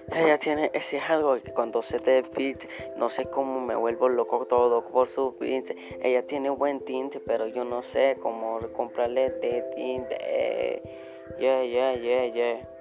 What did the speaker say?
Ella tiene, ese es algo que cuando se te beats, no sé cómo me vuelvo loco todo por su beats. Ella tiene buen tinte, pero yo no sé cómo comprarle de tinte. Yeah, yeah, yeah, yeah.